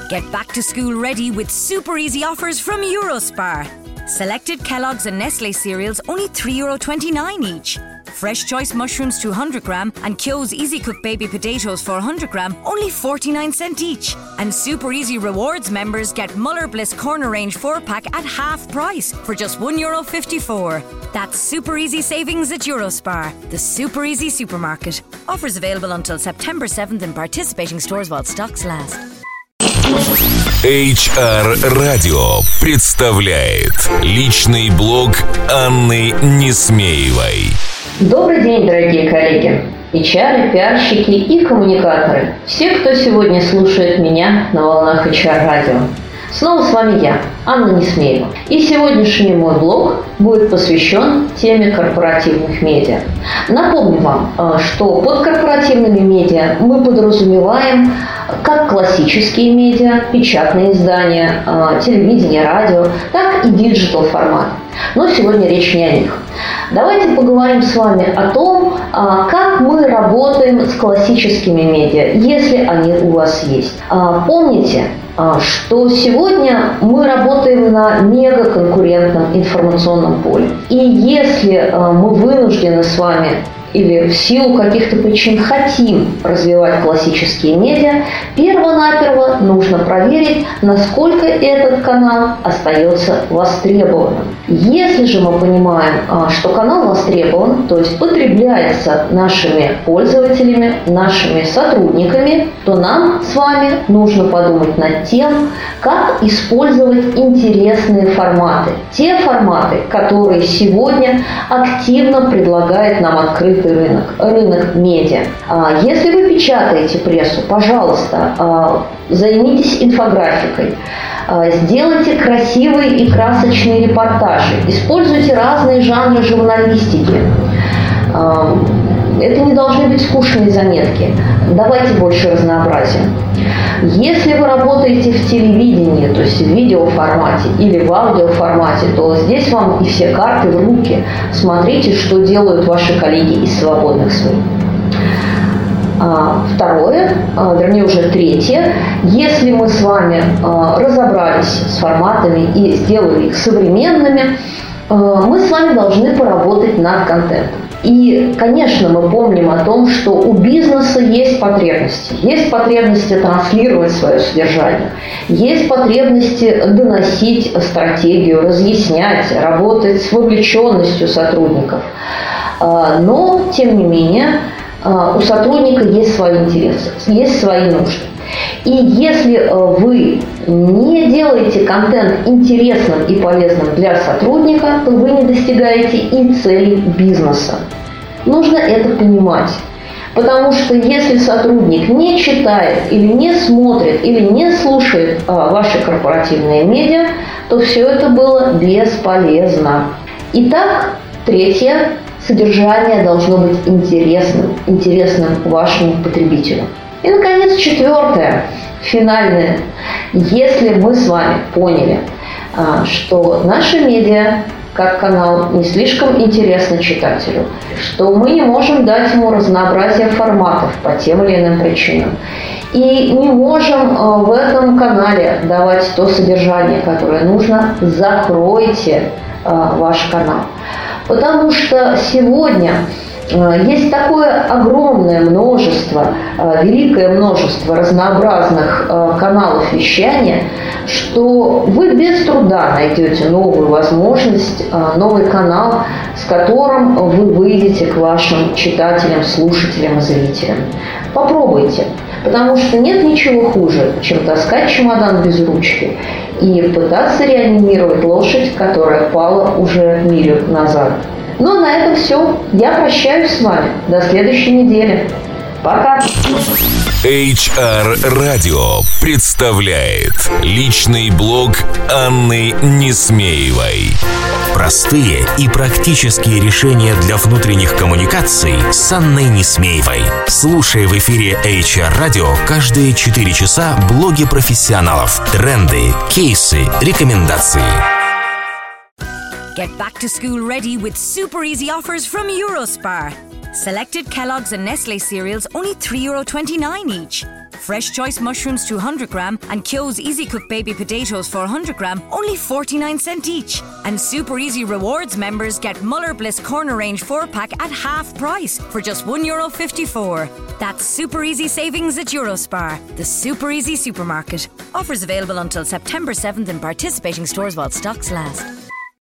Get back to school ready with super easy offers from Eurospar. Selected Kellogg's and Nestle cereals only €3.29 each. Fresh Choice mushrooms 200 gram and Kyo's Easy Cook baby potatoes 400 gram only 49 cents each. And Super Easy Rewards members get Muller Bliss Corner Range 4-pack at half price for just €1.54. That's Super Easy savings at Eurospar, the Super Easy supermarket. Offers available until September 7th in participating stores while stocks last. HR Radio представляет личный блог Анны Несмеевой. Добрый день, дорогие коллеги, HR, пиарщики и коммуникаторы. Все, кто сегодня слушает меня на волнах HR Radio. Снова с вами я, Анна Несмеева. И сегодняшний мой блог будет посвящен теме корпоративных медиа. Напомню вам, что под корпоративными медиа мы подразумеваем как классические медиа, печатные издания, телевидение, радио, так и диджитал формат. Но сегодня речь не о них. Давайте поговорим с вами о том, как мы работаем с классическими медиа, если они у вас есть. Помните, что сегодня мы работаем на мегаконкурентном информационном поле. И если мы вынуждены с вами или в силу каких-то причин хотим развивать классические медиа, перво-наперво нужно проверить, насколько этот канал остается востребованным. Если же мы понимаем, что канал востребован, то есть потребляется нашими пользователями, нашими сотрудниками, то нам с вами нужно подумать над тем, как использовать интересные форматы. Те форматы, которые сегодня активно предлагает нам открытый рынок медиа. Если вы печатаете прессу, пожалуйста, займитесь инфографикой. Сделайте красивые и красочные репортажи. Используйте разные жанры журналистики. Это не должны быть скучные заметки. Давайте больше разнообразия. Если вы работаете в телевидении, то есть в видеоформате или в аудиоформате, то здесь вам и все карты в руки. Смотрите, что делают ваши коллеги из свободных СМИ. Второе, вернее уже третье, если мы с вами разобрались с форматами и сделали их современными, мы с вами должны поработать над контентом. И, конечно, мы помним о том, что у бизнеса есть потребности. Есть потребности транслировать свое содержание. Есть потребности доносить стратегию, разъяснять, работать с вовлеченностью сотрудников. Но, тем не менее, у сотрудника есть свои интересы, есть свои нужды. И если вы не делаете контент интересным и полезным для сотрудника, то вы не достигаете и целей бизнеса. Нужно это понимать. Потому что если сотрудник не читает или не смотрит или не слушает ваши корпоративные медиа, то все это было бесполезно. Итак, третье. Содержание должно быть интересным вашему потребителю. И, наконец, четвертое, финальное. Если мы с вами поняли, что наши медиа, как канал, не слишком интересны читателю, что мы не можем дать ему разнообразие форматов по тем или иным причинам, и не можем в этом канале давать то содержание, которое нужно, закройте ваш канал. Потому что сегодня есть такое огромное множество, великое множество разнообразных каналов вещания, что вы без труда найдете новую возможность, новый канал, с которым вы выйдете к вашим читателям, слушателям и зрителям. Попробуйте, потому что нет ничего хуже, чем таскать чемодан без ручки и пытаться реанимировать лошадь, которая пала уже милю назад. Ну, на этом все. Я прощаюсь с вами. До следующей недели. Пока. HR Radio представляет личный блог Анны Несмеевой. Простые и практические решения для внутренних коммуникаций с Анной Несмеевой. Слушай в эфире HR Radio каждые 4 часа блоги профессионалов, тренды, кейсы, рекомендации. Get back to school ready with super easy offers from Eurospar. Selected Kellogg's and Nestle cereals only €3.29 each. Fresh Choice mushrooms 200 gram and Kyo's Easy Cook baby potatoes 400 gram, only 49¢ each. And Super Easy Rewards members get Muller Bliss Corner Range 4-pack at half price for just €1.54. That's Super Easy savings at Eurospar, the Super Easy supermarket. Offers available until September 7th in participating stores while stocks last.